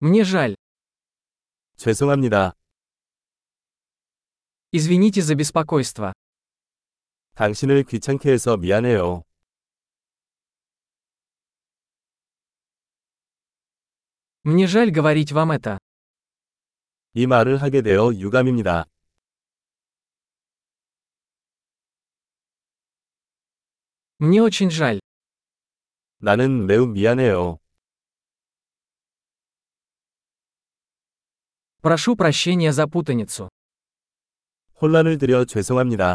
Мне жаль. 죄송합니다. Извините за беспокойство. 당신을 귀찮게 해서 미안해요. Мне жаль говорить вам это. 이 말을 하게 되어 유감입니다. Мне очень жаль. 나는 매우 미안해요. Прошу прощения за путаницу. 혼란을 드려 죄송합니다.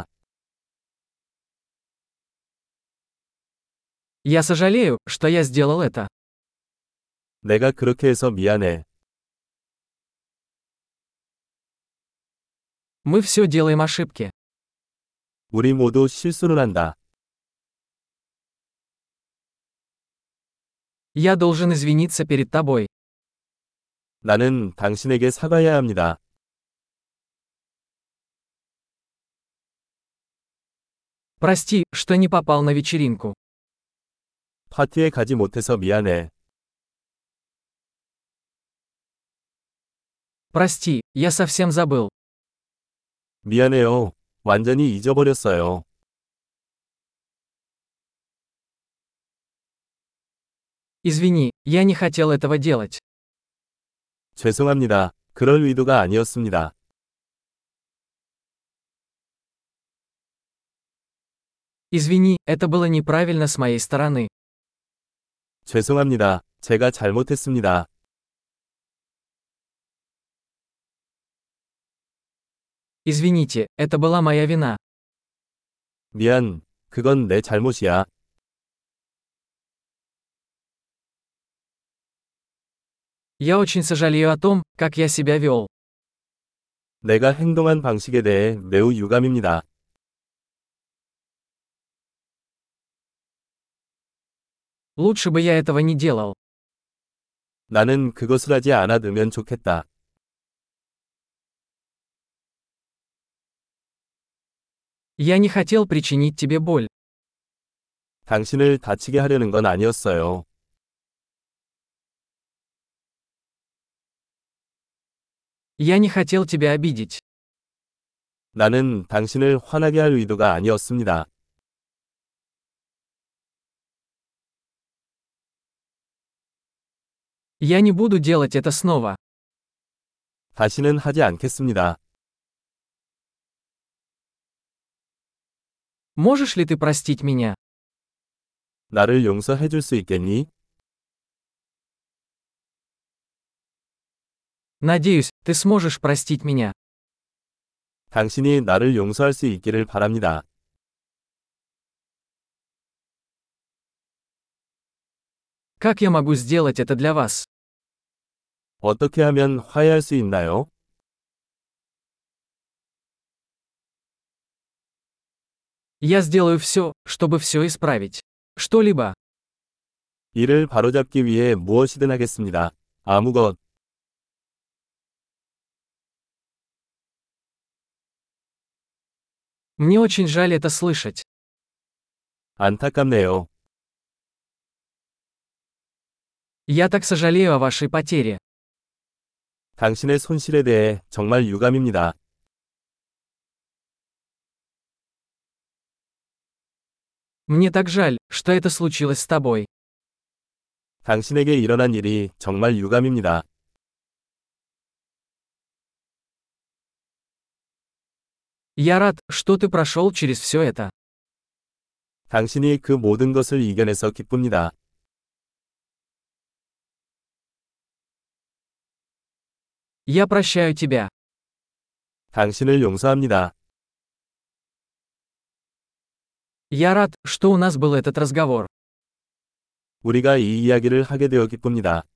Я сожалею, что я сделал это. 내가 그렇게 해서 미안해. Мы все делаем ошибки. 우리 모두 실수를 한다. Я должен извиниться перед тобой. 나는 당신에게 사과해야 합니다. Прости, что не попал на вечеринку. 파티에 가지 못해서 미안해. Прости, я совсем забыл. 미안해요. 완전히 잊어버렸어요. Извини, я не хотел этого делать. 죄송합니다. 그럴 의도가 아니었습니다. Извини, это было неправильно с моей стороны. 죄송합니다. 제가 잘못했습니다. Извините, это была моя вина. 미안. 그건 내 잘못이야. Я очень сожалею о том, как я себя вел. 내가 행동한 방식에 대해 매우 유감입니다. Лучше бы я этого не делал. 나는 그것을 하지 않아두면 좋겠다. Я не хотел причинить тебе боль. 당신을 다치게 하려는 건 아니었어요. Я не хотел тебя обидеть. 나는 당신을 화나게 할 의도가 아니었습니다. Я не буду делать это снова. 다시는 하지 않겠습니다. Можешь ли ты простить меня? 나를 용서해 줄 수 있겠니? Надеюсь, ты сможешь простить меня. 당신이 나를 용서할 수 있기를 바랍니다. Как я могу сделать это для вас? 어떻게 하면 화해할 수 있나요? Я сделаю все, чтобы все исправить. Что-либо. 이를 바로잡기 위해 무엇이든 하겠습니다. 아무것. Мне очень жаль это слышать. 안타깝네요. Я так сожалею о вашей потере. 당신의 손실에 대해 정말 유감입니다. Мне так жаль, что это случилось с тобой. 당신에게 일어난 일이 정말 유감입니다. Я рад, что ты прошел через все это. 당신이 그 모든 것을 이겨내서 기쁩니다. Я прощаю тебя. 당신을 용서합니다. Я рад, что у нас был этот разговор. 우리가 이 이야기를 하게 되어 기쁩니다.